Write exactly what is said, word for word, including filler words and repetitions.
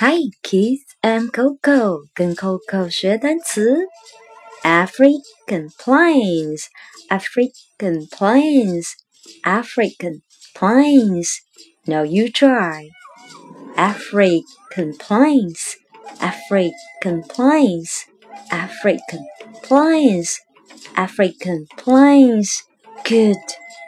Hi kids, I'm Coco， 跟 Coco 学单词。African plains, African plains, African plains. Now you try. African plains, African plains, African plains, African plains. Good.